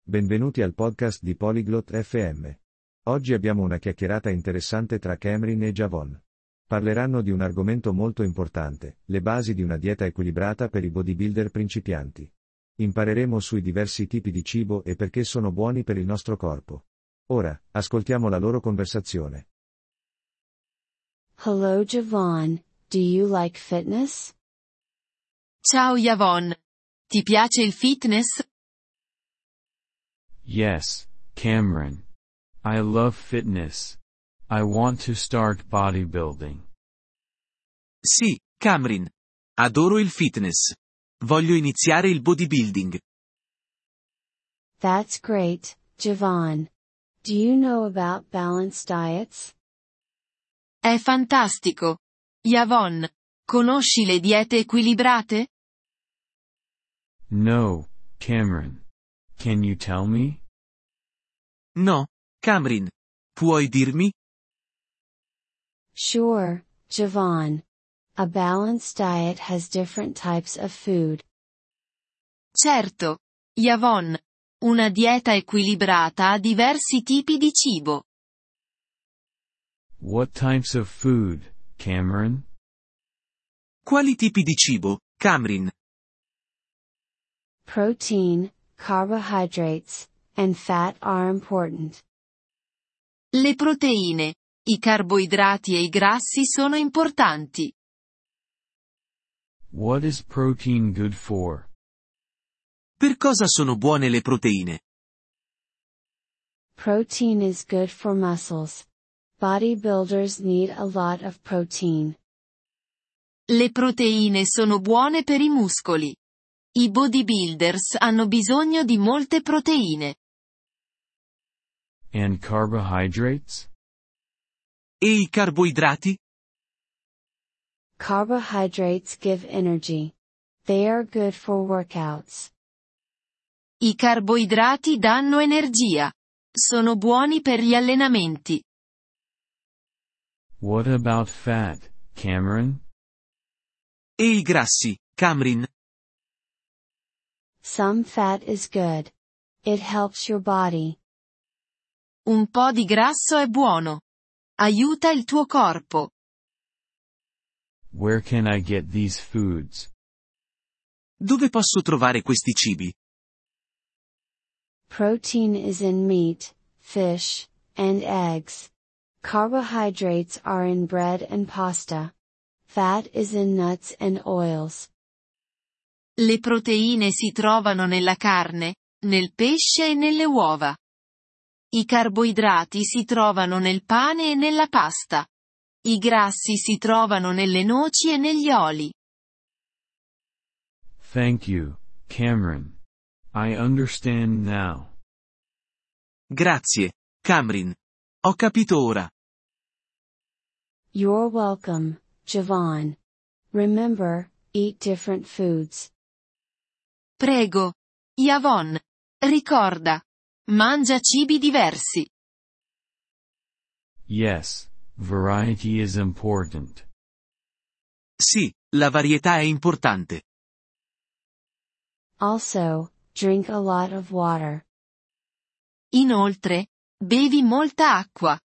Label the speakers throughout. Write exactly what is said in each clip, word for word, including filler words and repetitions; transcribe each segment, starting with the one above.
Speaker 1: Benvenuti al podcast di Polyglot F M. Oggi abbiamo una chiacchierata interessante tra Cameron e Javon. Parleranno di un argomento molto importante, le basi di una dieta equilibrata per i bodybuilder principianti. Impareremo sui diversi tipi di cibo e perché sono buoni per il nostro corpo. Ora, ascoltiamo la loro conversazione.
Speaker 2: Hello Javon, do you like fitness?
Speaker 3: Ciao Javon. Ti piace il fitness?
Speaker 4: Yes, Cameron. I love fitness. I want to start bodybuilding.
Speaker 5: Sì, Cameron. Adoro il fitness. Voglio iniziare il bodybuilding.
Speaker 2: That's great, Javon. Do you know about balanced diets?
Speaker 3: È fantastico. Javon, conosci le diete equilibrate?
Speaker 4: No, Cameron. Can you tell me?
Speaker 5: No, Cameron. Puoi dirmi?
Speaker 2: Sure, Javon. A balanced diet has different types of food.
Speaker 3: Certo. Javon. Una dieta equilibrata ha diversi tipi di cibo.
Speaker 4: What types of food, Cameron?
Speaker 5: Quali tipi di cibo, Cameron?
Speaker 2: Protein, carbohydrates, and fat are important.
Speaker 3: Le proteine, i carboidrati e i grassi sono importanti.
Speaker 4: What is protein good for?
Speaker 5: Per cosa sono buone le proteine?
Speaker 2: Protein is good for muscles. Bodybuilders need a lot of protein.
Speaker 3: Le proteine sono buone per i muscoli. I bodybuilders hanno bisogno di molte proteine.
Speaker 4: And carbohydrates?
Speaker 5: E i carboidrati?
Speaker 2: Carbohydrates give energy. They are good for workouts.
Speaker 3: I carboidrati danno energia. Sono buoni per gli allenamenti.
Speaker 4: What about fat, Cameron?
Speaker 5: E i grassi, Cameron?
Speaker 2: Some fat is good. It helps your body.
Speaker 3: Un po' di grasso è buono. Aiuta il tuo corpo.
Speaker 4: Where can I get these foods?
Speaker 5: Dove posso trovare questi cibi?
Speaker 2: Protein is in meat, fish, and eggs. Carbohydrates are in bread and pasta. Fat is in nuts and oils.
Speaker 3: Le proteine si trovano nella carne, nel pesce e nelle uova. I carboidrati si trovano nel pane e nella pasta. I grassi si trovano nelle noci e negli oli.
Speaker 4: Thank you, Cameron. I understand now.
Speaker 5: Grazie, Cameron. Ho capito ora.
Speaker 2: You're welcome, Javon. Remember, eat different foods.
Speaker 3: Prego. Javon. Ricorda. Mangia cibi diversi.
Speaker 4: Yes, variety is important.
Speaker 5: Sì, la varietà è importante.
Speaker 2: Also, drink a lot of water.
Speaker 3: Inoltre, bevi molta acqua.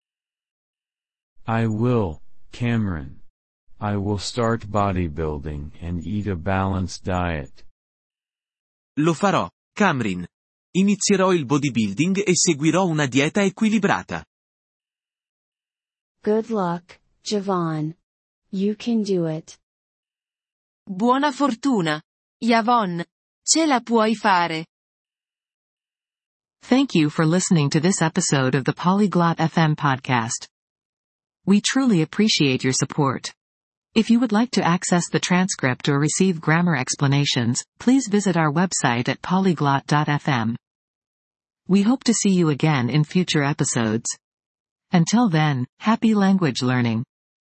Speaker 4: I will, Cameron. I will start bodybuilding and eat a balanced diet.
Speaker 5: Lo farò, Cameron. Inizierò il bodybuilding e seguirò una dieta equilibrata.
Speaker 2: Good luck, Javon. You can do it.
Speaker 3: Buona fortuna. Javon. Ce la puoi fare.
Speaker 6: Thank you for listening to this episode of the Polyglot F M podcast. We truly appreciate your support. If you would like to access the transcript or receive grammar explanations, please visit our website at polyglot dot f m. We hope to see you again in future episodes. Until then, happy language learning.